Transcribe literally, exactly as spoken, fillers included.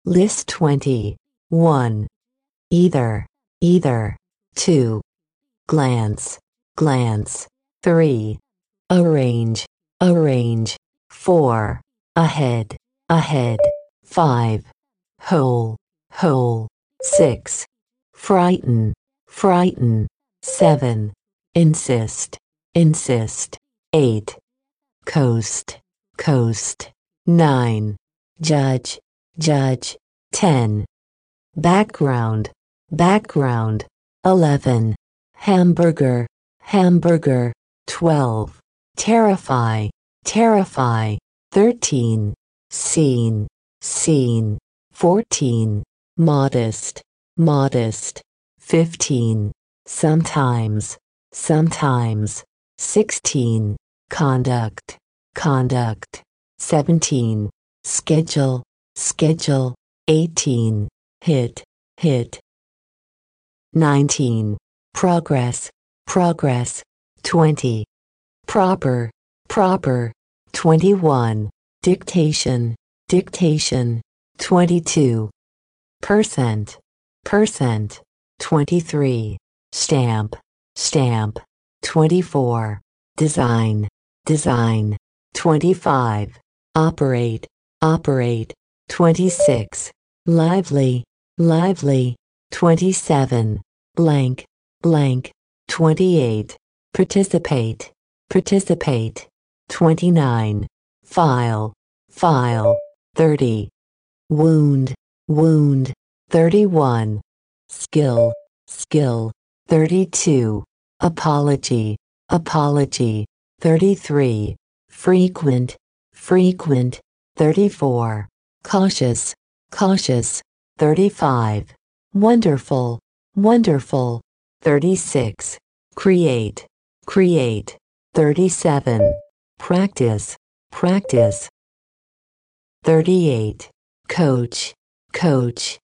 List twenty. one. Either, either. two. Glance, glance. three. Arrange, arrange. four. Ahead, ahead. five. Whole, whole. six. Frighten, frighten. seven. Insist, insist. eight. Coast, coast. nine. Judge, judge. ten. Background, background. eleven. Hamburger, hamburger. twelve. Terrify, terrify. thirteen. Scene, scene. fourteen. Modest, modest. fifteen. Sometimes, sometimes. sixteen. Conduct, conduct. seventeen. Schedule, schedule. eighteen. Hit, hit. nineteen. Progress, progress. twenty. Proper, proper. twenty-one. Dictation, dictation. twenty-two. Percent, percent. twenty-three. Stamp, stamp. twenty-four. Design, design. twenty-five. Operate, operate. twenty-six. Lively, lively. twenty-seven. Blank, blank. twenty-eight. Participate, participate. twenty-nine. File, file. thirty. Wound, wound. thirty-one. Skill, skill. thirty-two. Apology, apology. thirty-three. Frequent, frequent. thirty-four. Cautious, cautious. thirty-five. Wonderful, wonderful. thirty-six. Create, create. thirty-seven. Practice, practice. thirty-eight. Coach, coach.